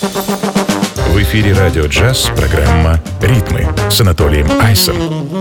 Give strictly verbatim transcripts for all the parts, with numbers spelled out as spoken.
В эфире «Радио Джаз» программа «Ритмы» с Анатолием Айсом.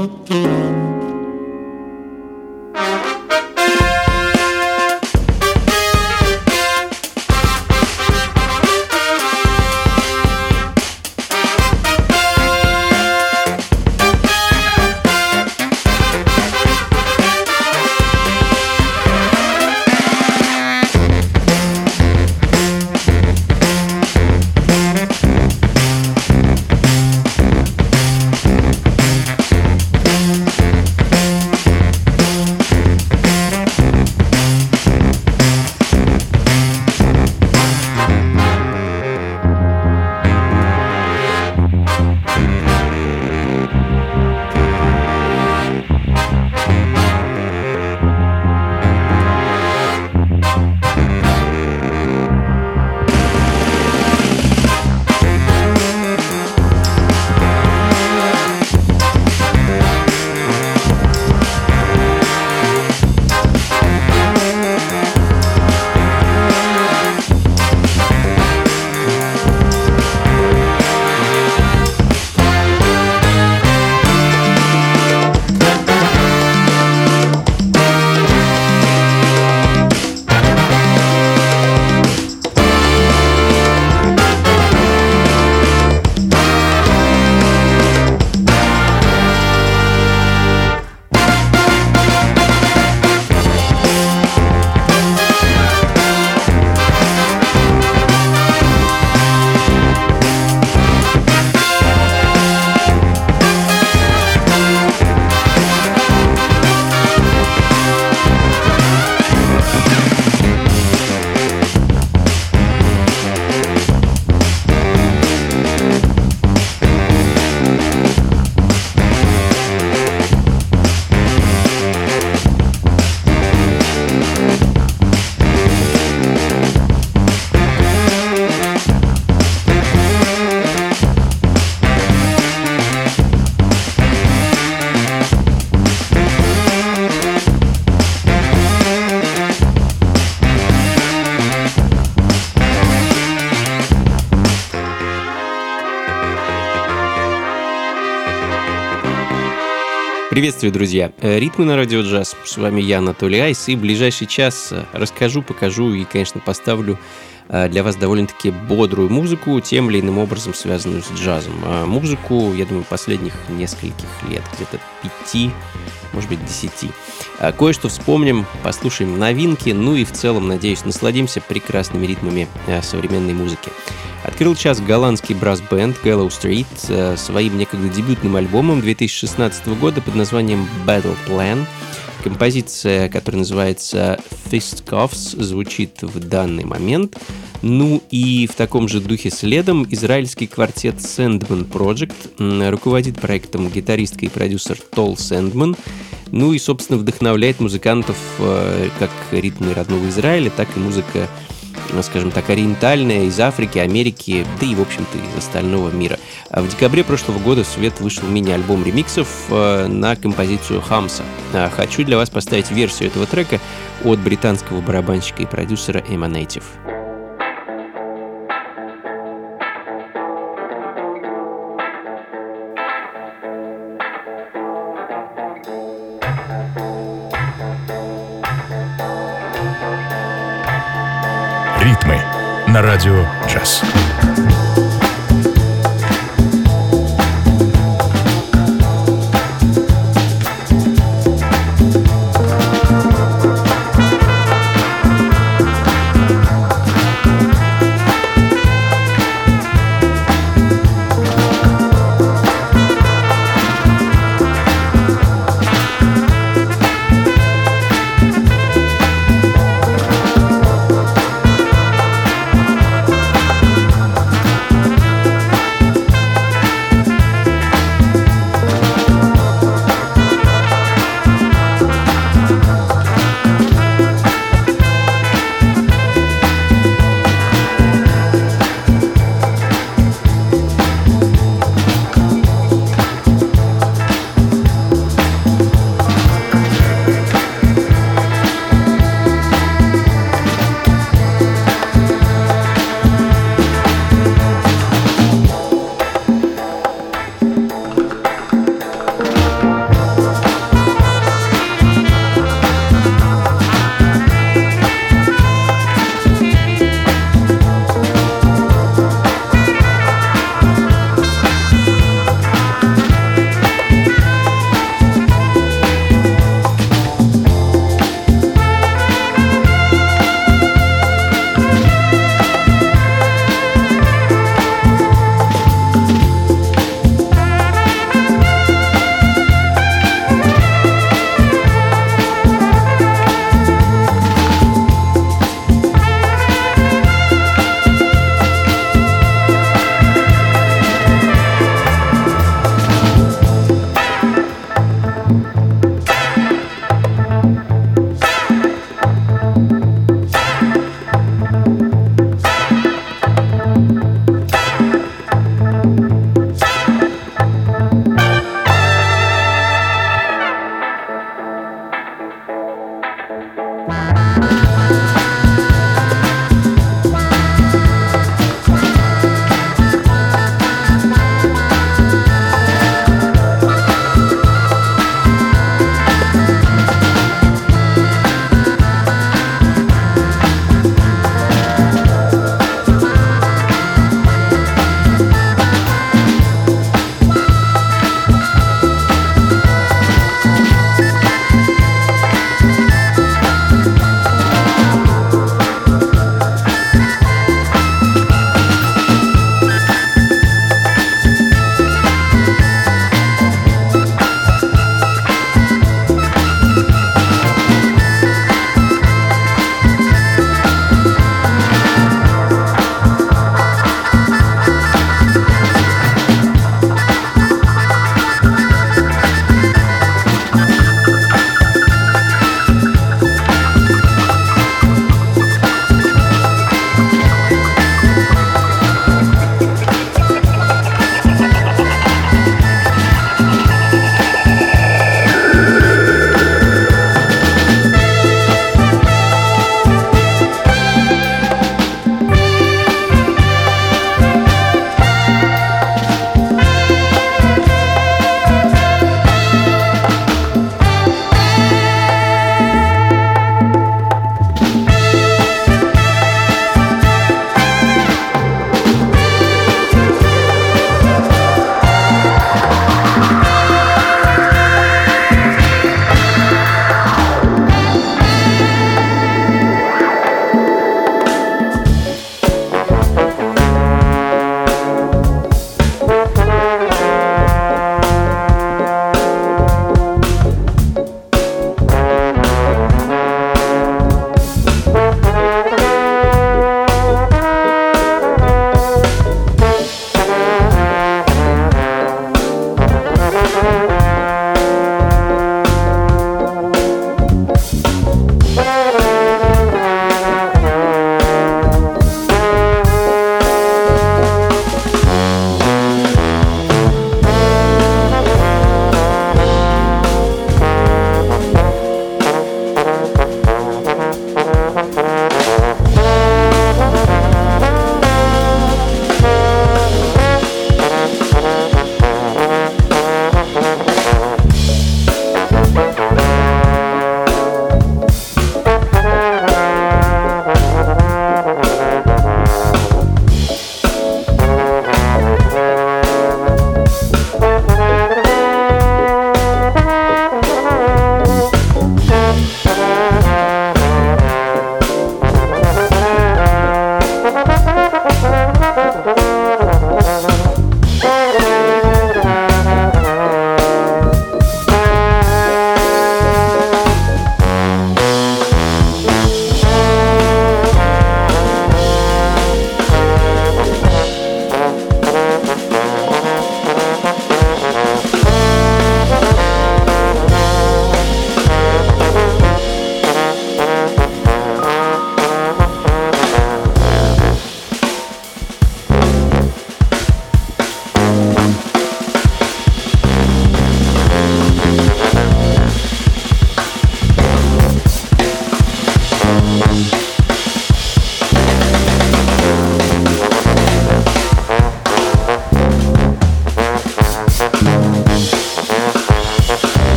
Приветствую, друзья! Ритмы на радио джаз. С вами я, Анатолий Айс, и в ближайший час расскажу, покажу и, конечно, поставлю для вас довольно-таки бодрую музыку, тем или иным образом связанную с джазом. Музыку, я думаю, последних нескольких лет, где-то пяти, может быть, десяти. Кое-что вспомним, послушаем новинки, ну и в целом, надеюсь, насладимся прекрасными ритмами современной музыки. Открыл час голландский брас-бенд Gallow Street своим некогда дебютным альбомом две тысячи шестнадцатого года под названием Battle Plan. Композиция, которая называется Fistcuffs, звучит в данный момент. Ну и в таком же духе следом израильский квартет Sandman Project. Руководит проектом гитаристка и продюсер Тол Сэндман. Ну и, собственно, вдохновляет музыкантов как ритмы родного Израиля, так и музыка, скажем так, ориентальная, из Африки, Америки, да и, в общем-то, из остального мира. В декабре прошлого года в свет вышел мини-альбом ремиксов на композицию «Хамса». Хочу для вас поставить версию этого трека от британского барабанщика и продюсера Emanative. Ритмы на радио джаз.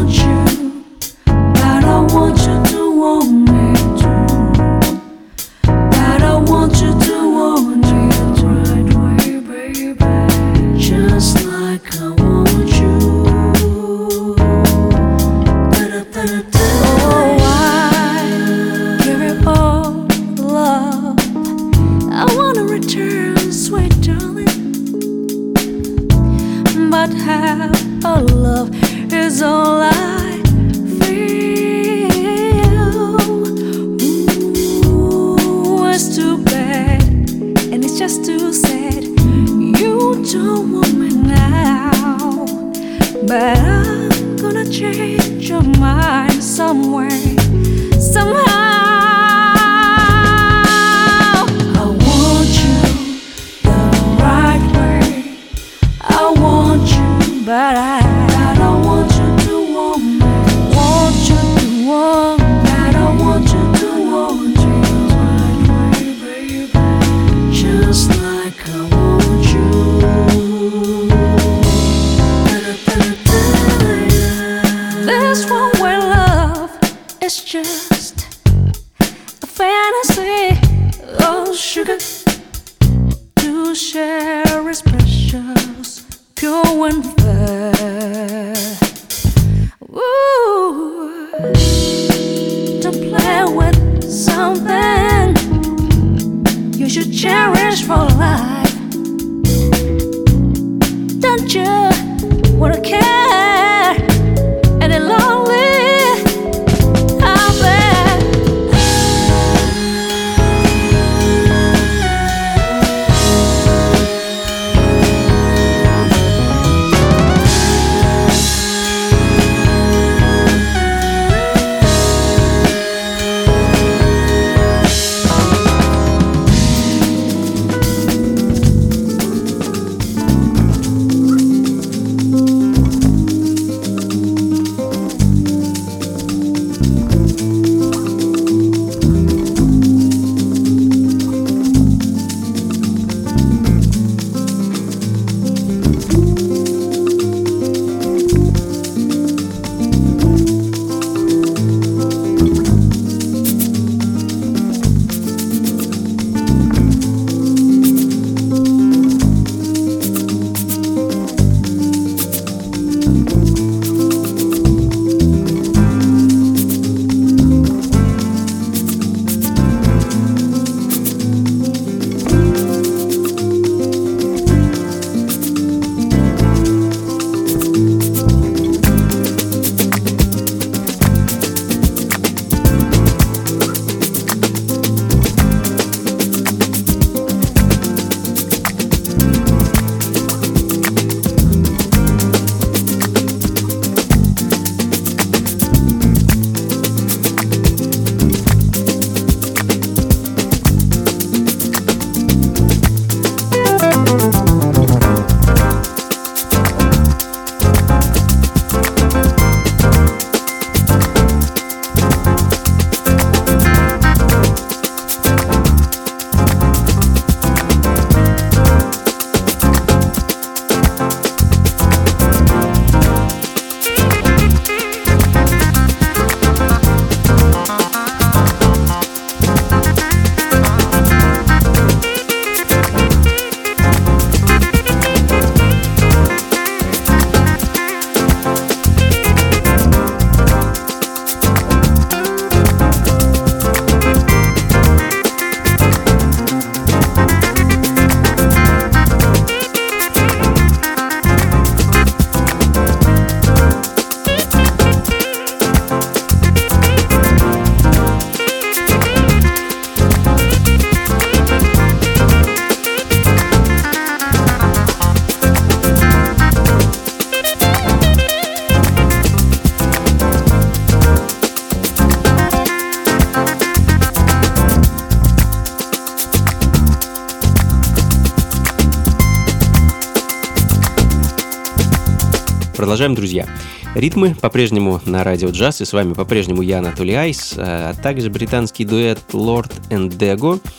Продолжаем, друзья. Ритмы по-прежнему на радио джаз, и с вами по-прежнему я, Анатолий Айс, а также британский дуэт Lord and Dego.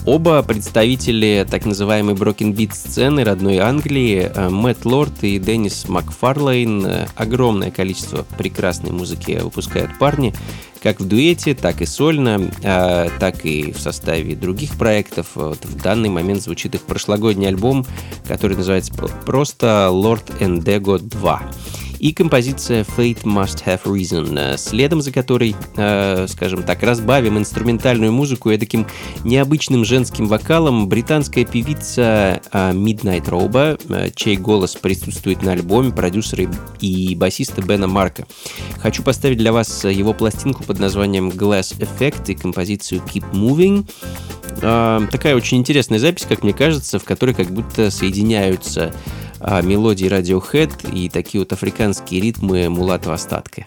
Оба представители так называемой Broken Beat сцены родной Англии, Мэтт Лорд и Деннис Макфарлейн. Огромное количество прекрасной музыки выпускают парни, как в дуэте, так и сольно, так и в составе других проектов. Вот в данный момент звучит их прошлогодний альбом, который называется просто Lord and Dego два. И композиция Fate Must Have Reason, следом за которой, э, скажем так, разбавим инструментальную музыку эдаким необычным женским вокалом британская певица э, Midnight Roba, э, чей голос присутствует на альбоме продюсера и басиста Бена Марка. Хочу поставить для вас его пластинку под названием Glass Effect и композицию Keep Moving. Э, такая очень интересная запись, как мне кажется, в которой как будто соединяются а мелодии Radiohead и такие вот африканские ритмы Мулата Остатка.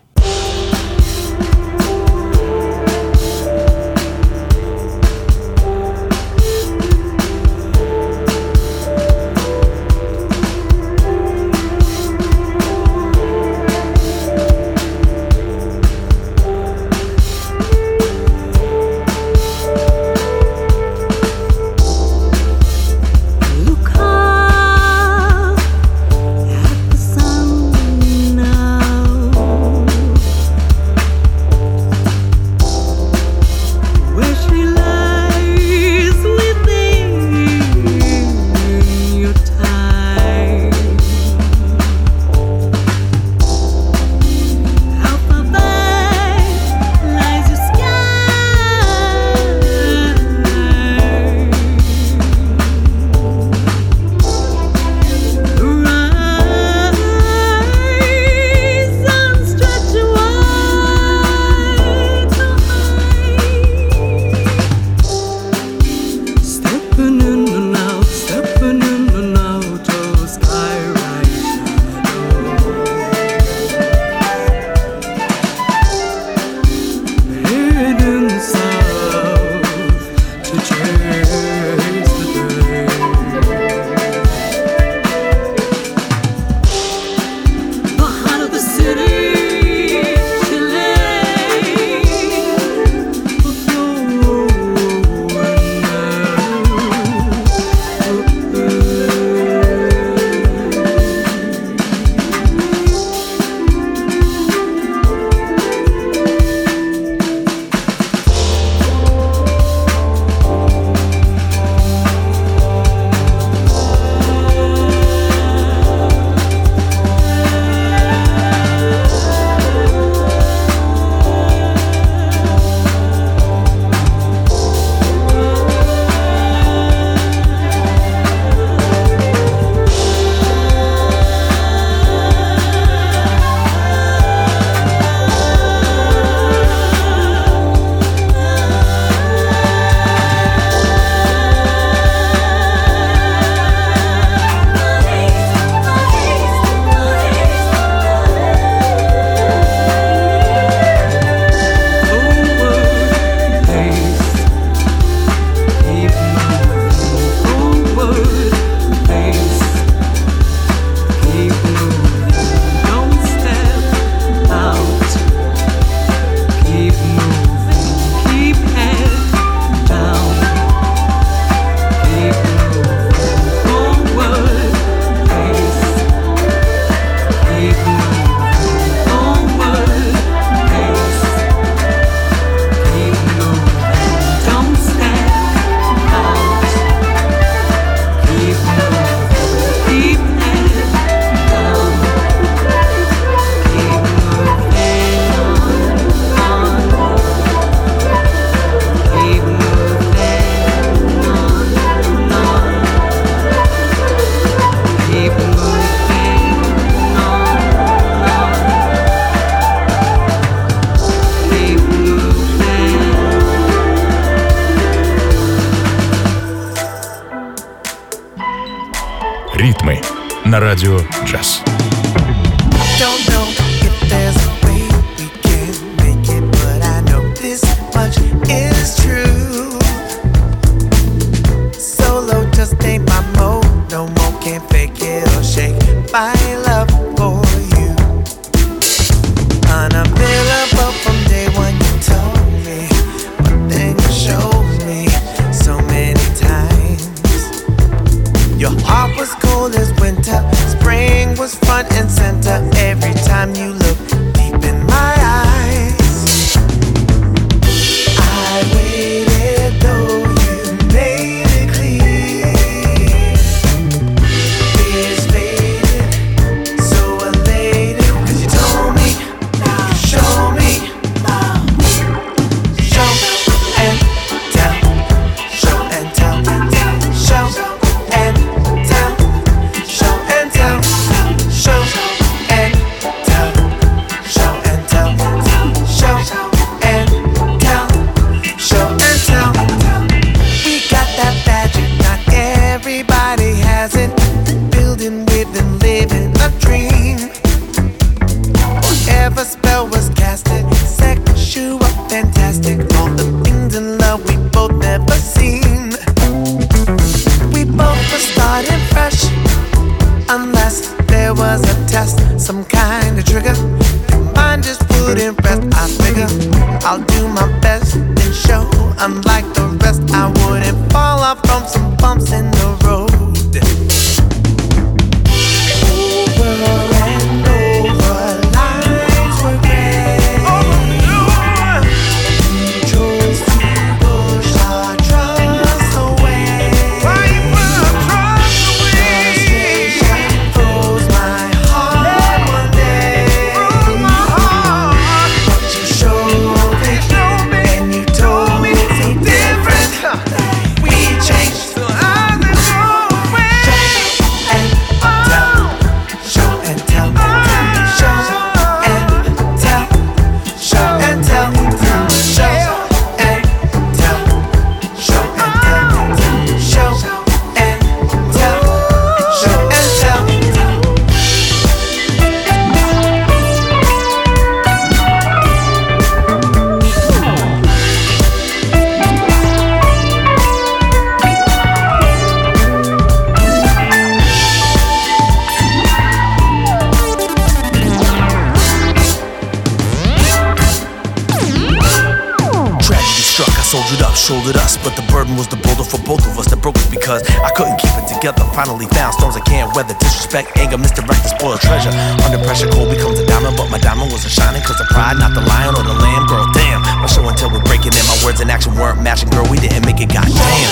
Ритмы на радио джаз. From day one you told me, but then you showed me so many was front and center every time you looked deep in my eyes. I waited though you made it clear. Fears faded, so elated, 'cause you told me, you showed me, show and tell, show and tell, show and tell, show and tell, show and tell, show and tell, show and tell, show and tell. We got that magic, not everybody has it. Building with and living a dream. Whatever spell was casted, sexual, fantastic. All the things in love we both never seen. We both were starting fresh, unless there was a test, some kind of trigger. Mine just wouldn't rest. I figure I'll do my best and show. Unlike the rest, I wouldn't fall off from some bumps in the road. Over and over, lines were read. You chose to push our trust away. Frustration froze my heart one day. But you showed me, and you told me so different. We changed. Show and tell, show and tell, show and tell, show and tell, show and tell, show and tell, show and tell. Tragedy struck, I soldiered up, shouldered us, but the burden was the boulder for both of us that broke us because I couldn't keep it together. Finally found storms I can't weather, disrespect, anger, misdirect, spoiled treasure. Under pressure, cold becomes a diamond, but my diamond wasn't shining 'cause of pride, not the lion or the lamb. Girl, damn, my show and tell we're breaking in. My words and action weren't matching, girl, we didn't make it, goddamn.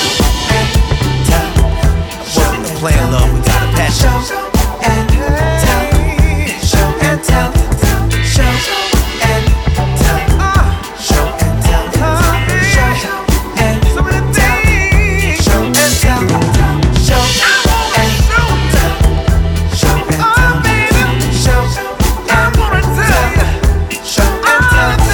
Wasn't the plan, love, we got a passion. Show and tell, show and tell, show and tell, show and tell, show and tell, show and tell, show and tell, show and tell, show and tell, show and tell, show and tell, show and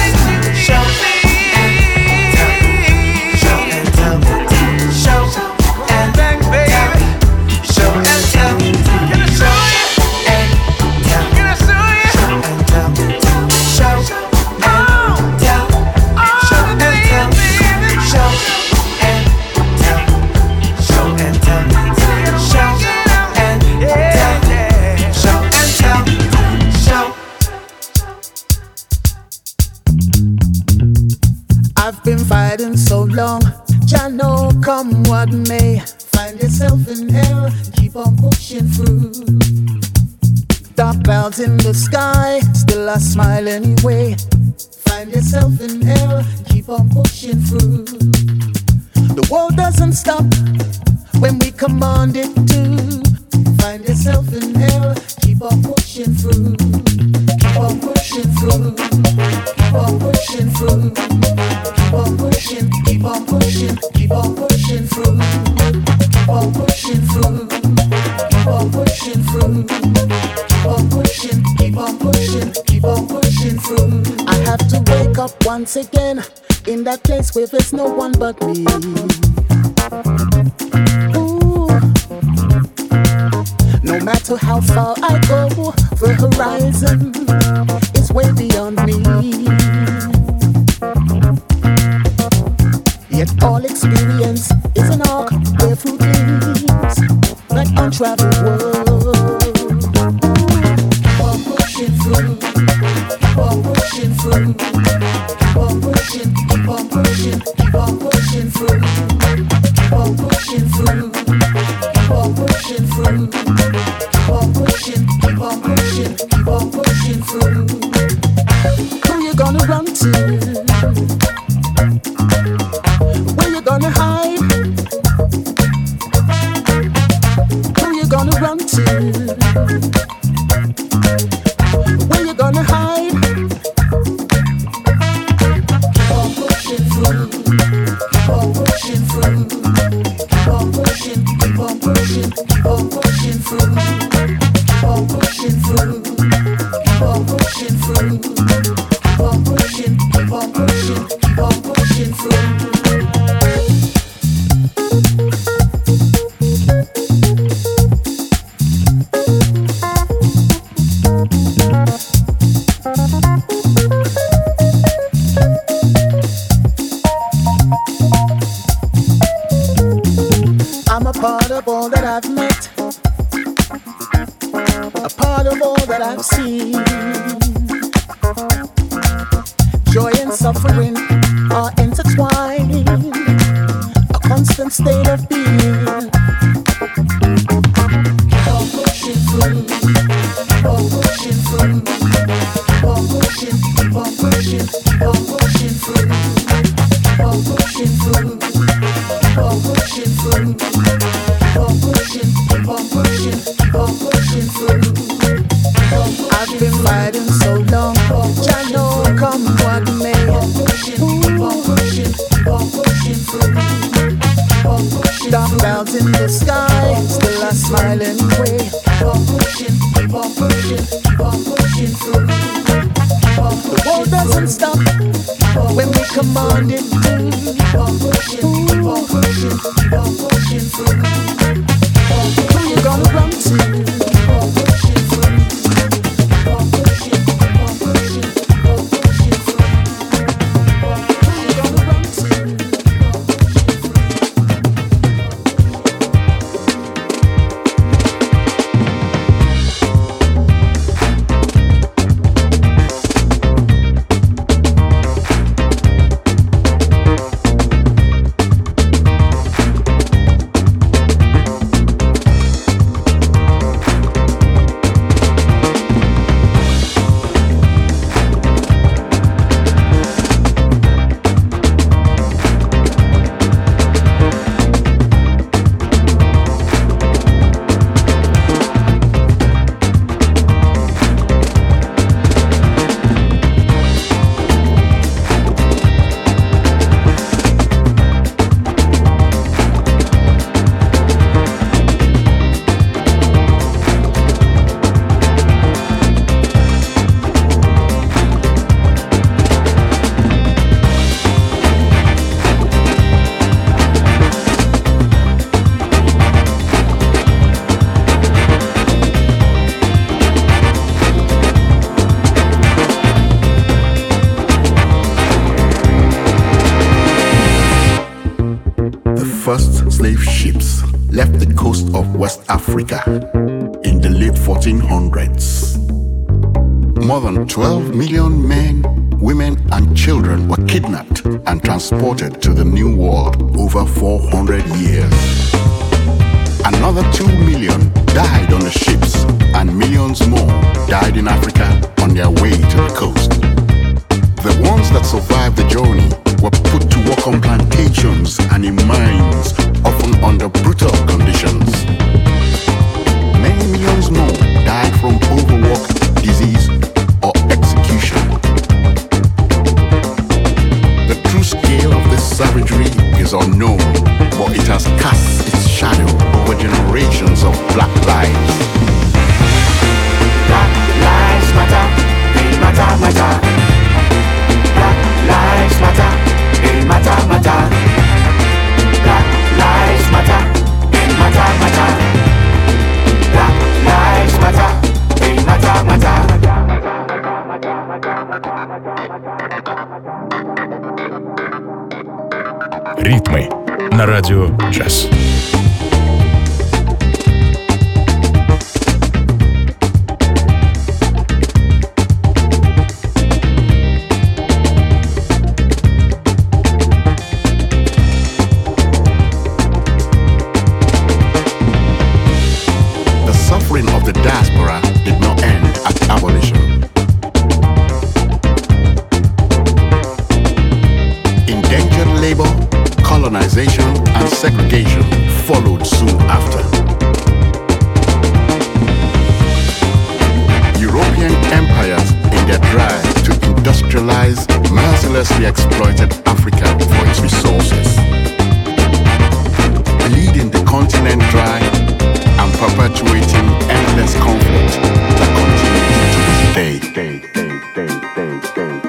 tell, show and tell. Show and tell, can I show you? And tell, can I show you? Show and tell, show and tell, show and tell, show and tell, show and tell, show and tell, show and tell, show. I've been fighting so long, Jah know come what may. Find yourself in hell, keep on pushing through. Dark clouds in the sky, still I smile anyway. Find yourself in hell, keep on pushing through. The world doesn't stop when we command it to. Find yourself in hell, keep on pushing through. Keep on pushing through. Keep on pushing through. Keep on pushing, keep on pushing, keep on pushing through. Keep on pushing through. Keep on pushing through. Keep on pushing, keep on pushing, keep on pushing through. I have to wake up once again in that place where there's no one but me. Ooh. No matter how far I go, the horizon is way beyond me. Yet all experience is an arc where fruit leaves like untraveled world. Keep on pushing through, keep on pushing through, keep on pushing, keep on pushing, keep on pushing through, keep on pushing through, keep on pushing through, keep on pushing, keep on run to? Where you gonna hide? Who you gonna run to? Where you gonna hide? Keep on pushing through. Keep on pushing through. Keep on pushing. Keep on pushing. Keep on pushing through. Keep on pushing through. Keep on pushing through. Keep on pushing. Keep on pushing. Keep on pushing through. I'm a part of all that I've met, a part of all that I've seen. Joy and suffering are intertwined, a constant state of being. Keep on pushing through, keep on pushing through, keep on pushing, keep on pushing, keep on pushing through, keep on pushing through, keep on pushing through, keep on pushing, keep on pushing, keep on pushing through. I've been fighting so long, I know come what may. Keep on pushing, keep on pushing through. Dark clouds in the sky, still a smiling way. Keep on pushing, keep on pushing, keep on pushing through. The world doesn't stop when we command it to. Keep on pushing, keep on pushing, keep on pushing through. Who you gonna run to? Keep on pushing through. Keep on pushing, keep on pushing, keep on pushing through. Who you gonna run to? First slave ships left the coast of West Africa in the late fourteen hundreds. More than twelve million men, women, and children were kidnapped and transported to the New World over four hundred years. Another two million died on the ships, and millions more died in Africa on their way to the coast. The ones that survived the journey were put to work on plantations and in mines, often under brutal conditions. Many millions more died from overwork, disease, or execution. The true scale of this savagery is unknown, but it has cast its shadow over generations of black lives. Black lives matter, they matter, matter. Black lives matter, they matter, matter. Black lives matter, they matter, matter. Black lives matter, they matter, matter. Ритмы на радио джаз. Diaspora did not end at abolition. colonization and segregation followed soon after. European empires, in their drive to industrialize, mercilessly exploited Africa for its resources, bleeding the continent dry and perpetuating endless conflict that continues to this day. day, day, day, day, day, day.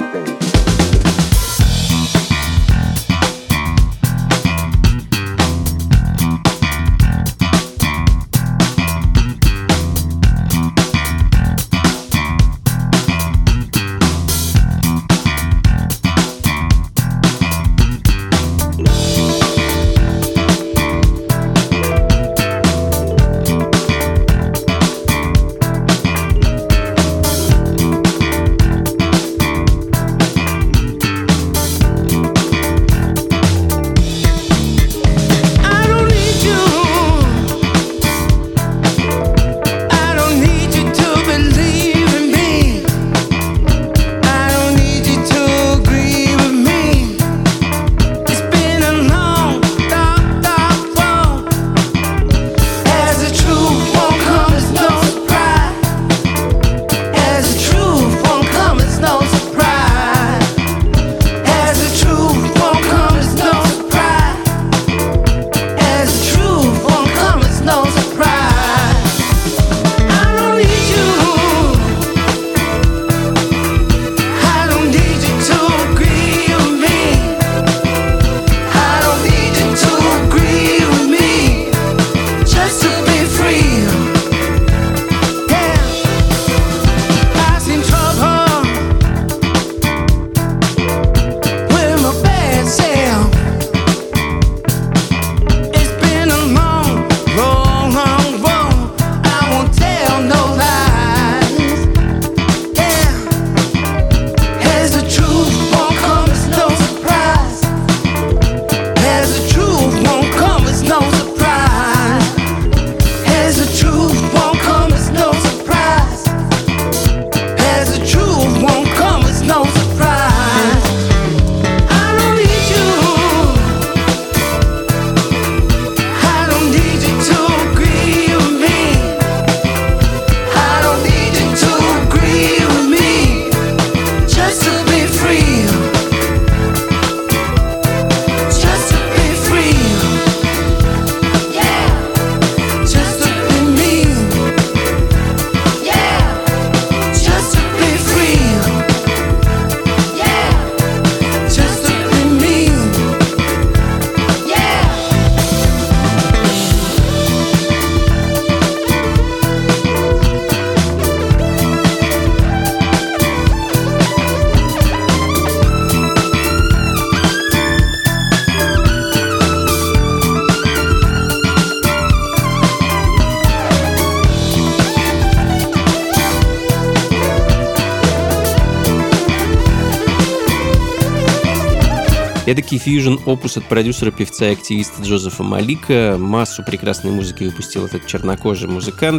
Эдакий фьюжн-опус от продюсера-певца и активиста Джозефа Малика. Массу прекрасной музыки выпустил этот чернокожий музыкант.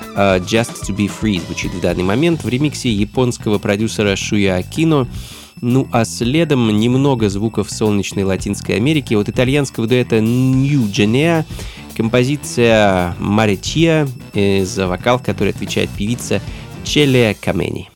«Just to be free» звучит в данный момент в ремиксе японского продюсера Шуя Акино. Ну а следом немного звуков солнечной Латинской Америки от итальянского дуэта New Genea. Композиция «Маречия», за вокал которой отвечает певица Челия Камени.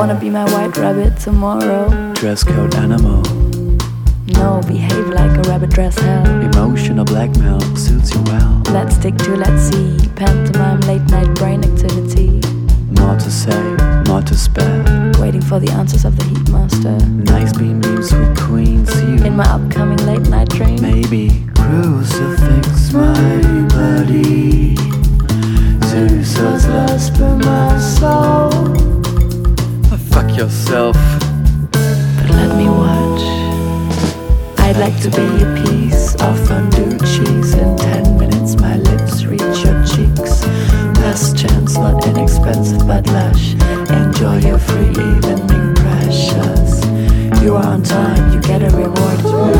Wanna be my white rabbit tomorrow? Dress code animal. No, behave like a rabbit dress hell. Emotional blackmail suits you well. Let's stick to let's see. Pantomime late night brain activity. More to say, more to spare. Waiting for the answers of the Heatmaster. Nice beam beams with queens you. In my upcoming late night dream. Maybe crucifix my body. Zeus was lost by my soul. Oh, fuck yourself. But let me watch. I'd like to be a piece of fondue cheese. In ten minutes my lips reach your cheeks. Last chance, not inexpensive but lush. Enjoy your free evening, precious. You are on time, you get a reward.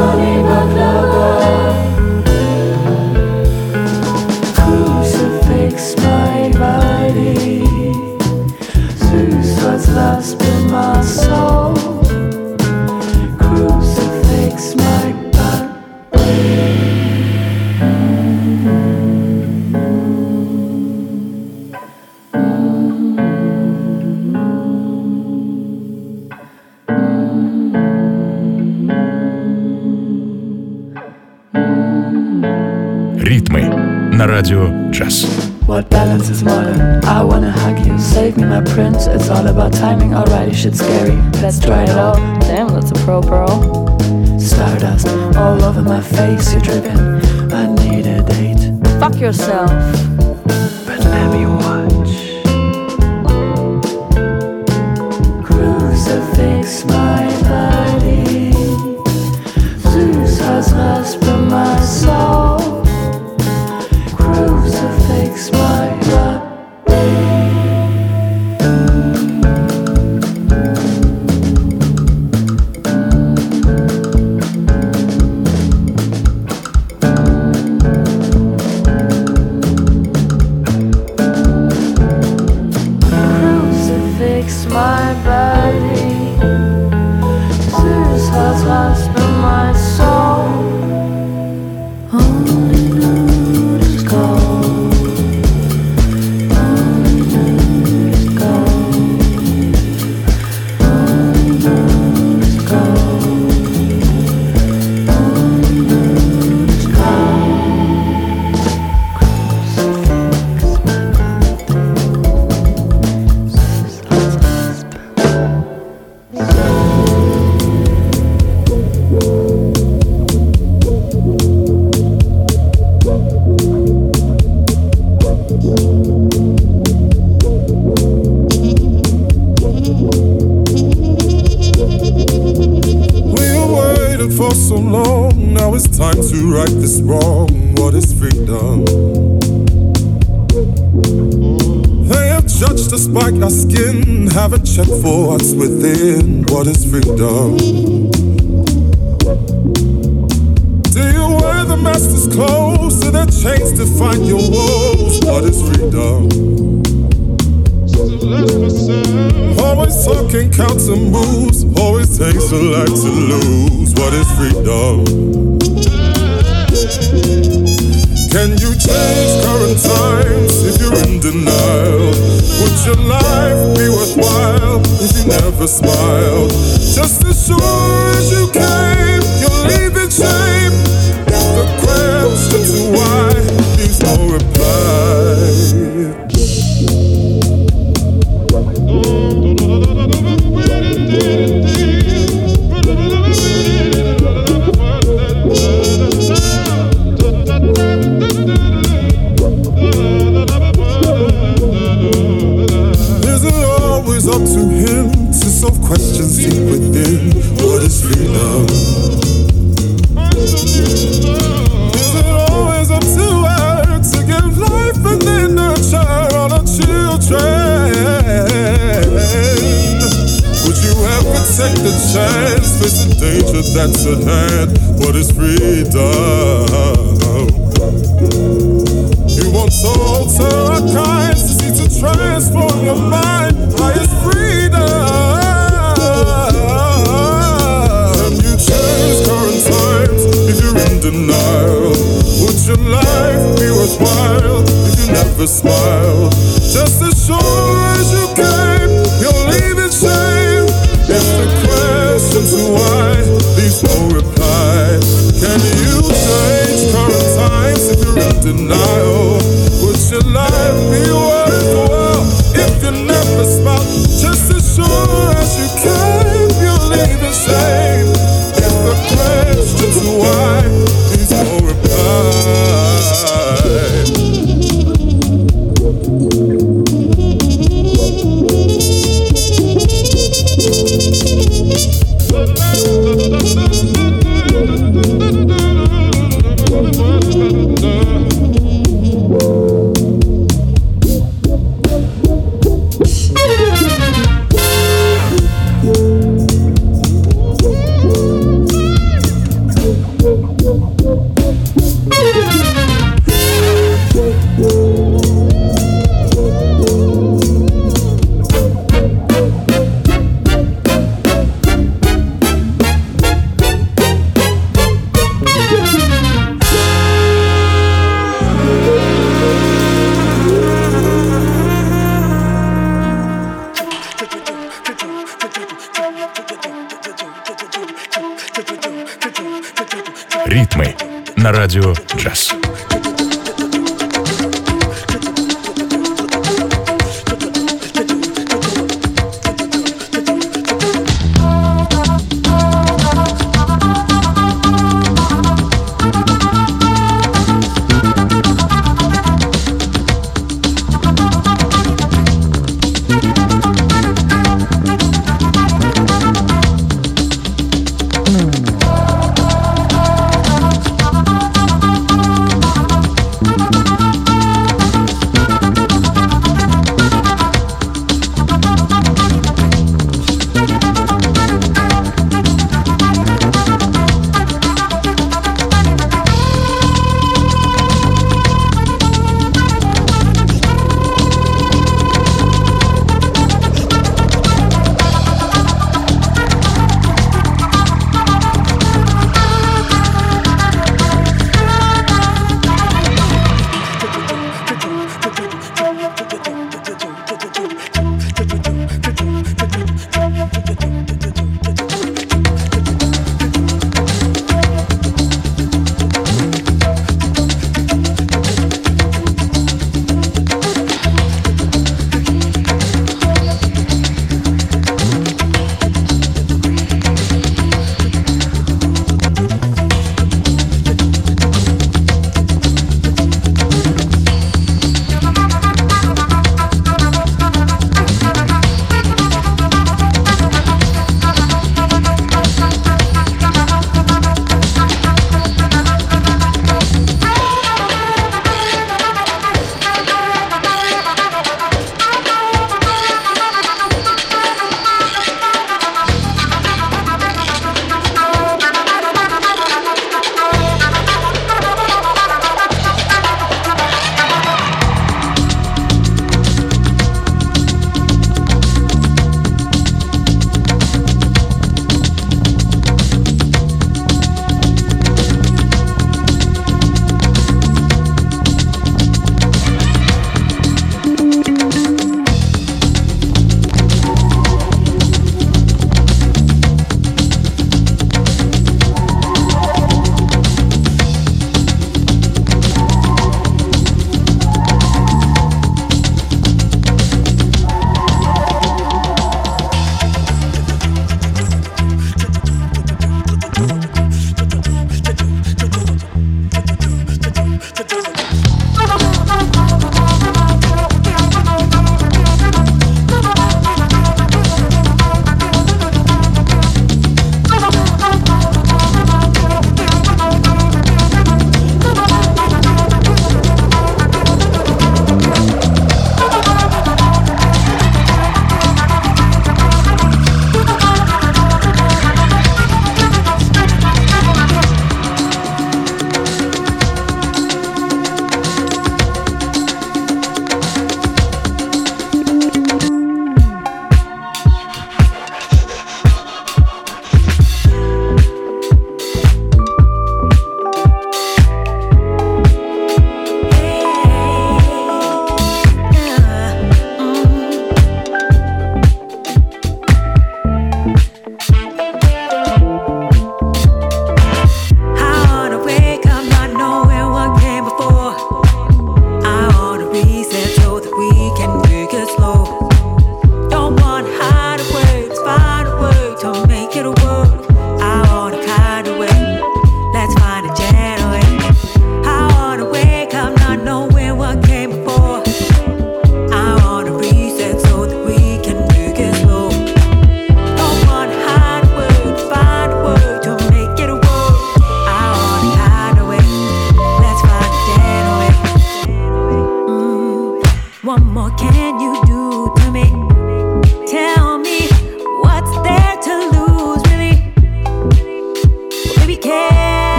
Crucifix my body. Zeus was lost in my soul. Crucifix my body. Ритмы на радио джаз. What balance is modern? I wanna hug you, save me my prince. It's all about timing, alrighty, shit's scary. Let's try it all. Damn, that's a pro bro. Stardust all over my face, you're dripping. I need a date. Fuck yourself. But let me watch. Crucifix my body. Zeus has rasped my soul. Crucifix my body. Crucifix my body. Zeus has rasped my soul. Only nude is gold. Only nude is gold. Only nude is gold. Only nude is gold. Crucifix my body. Zeus has rasped my For so long, now it's time to right this wrong. What is freedom? They have judged us by our skin, haven't checked for what's within. What is freedom? Do you wear the master's clothes? Do their chains define your woes? What is freedom? Always talking counter moves, always takes a lot to lose. What is freedom? Can you change current times if you're in denial? Would your life be worthwhile if you never smiled? Just as sure as you came, you'll leave in shame. If the question to why leaves no reply. Up to him to solve questions deep within. What is freedom? Is it always up to her to give life and then nurture all her children? Would you ever take the chance, face the danger that's at hand? What is freedom? You want to alter our kinds, to see to transform your mind. Highest freedom. Can you change current times if you're in denial? Would your life be worthwhile if you never smiled? Just as sure as you came, you'll leave in shame. на радио «Джаз».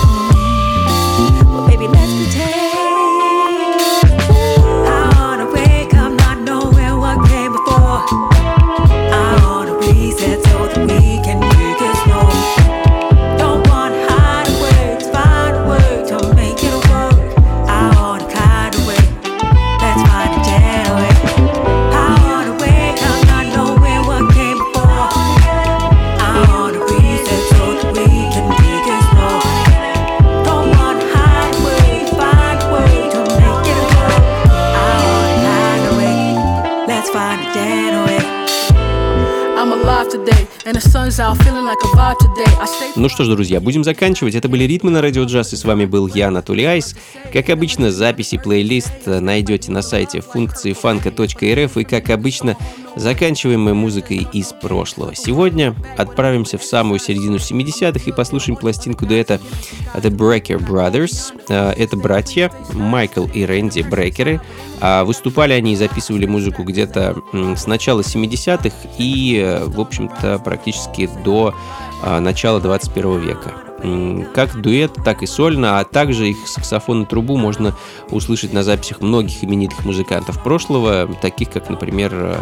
I wanna wake Ну что ж, друзья, будем заканчивать. Это были «Ритмы» на Радио Джаз, и с вами был я, Анатолий Айс. Как обычно, записи плейлист найдете на сайте функции фанка точка эр эф, и, как обычно, заканчиваем мы музыкой из прошлого. Сегодня отправимся в самую середину семидесятых и послушаем пластинку дуэта The Brecker Brothers. Это братья Майкл и Рэнди Брекеры. Выступали они и записывали музыку где-то с начала семидесятых и, в общем-то, практически до начала двадцать первого века. Как дуэт, так и сольно, а также их саксофон и трубу можно услышать на записях многих именитых музыкантов прошлого, таких как, например,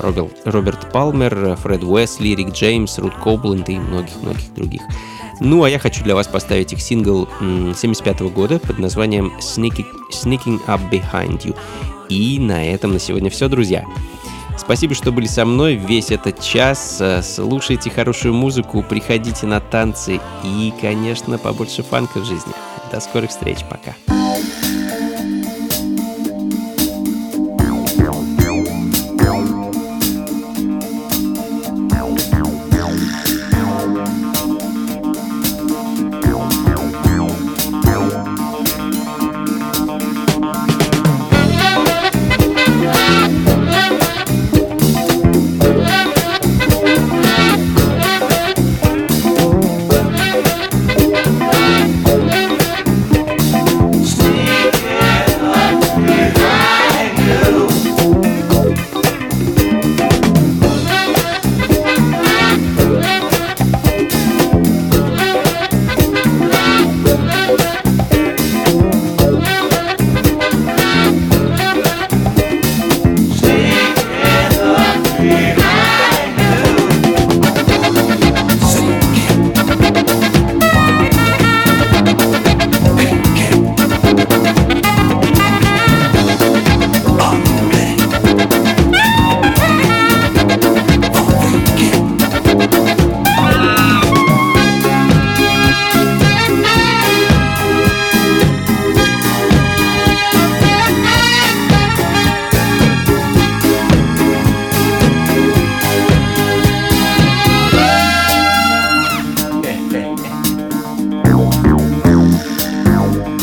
Роберт Палмер, Фред Уэсли, Рик Джеймс, Рут Кобленд и многих-многих других. Ну, а я хочу для вас поставить их сингл семьдесят пятого года под названием Sneaking, Sneaking Up Behind You. И на этом на сегодня все, друзья. Спасибо, что были со мной весь этот час. Слушайте хорошую музыку, приходите на танцы и, конечно, побольше фанка в жизни. До скорых встреч, пока.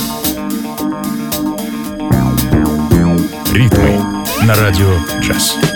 На Радио Джаз.